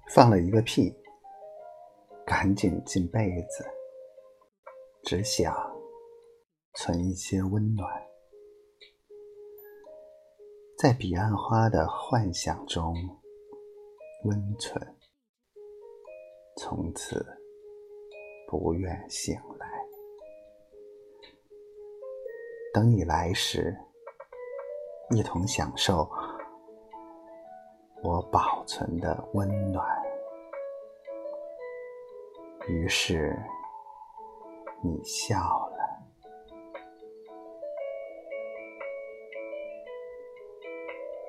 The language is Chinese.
放了一个屁，赶紧进被子，只想存一些温暖，在彼岸花的幻想中温存，从此不愿醒来。等你来时，一同享受我保存的温暖。于是你笑了。